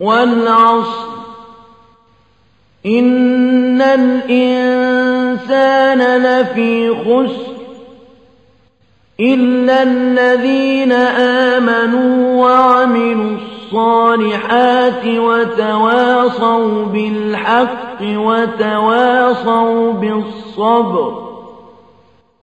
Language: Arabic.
والعصر إن الإنسان لفي خسر إلا الذين آمنوا وعملوا الصالحات وتواصوا بالحق وتواصوا بالصبر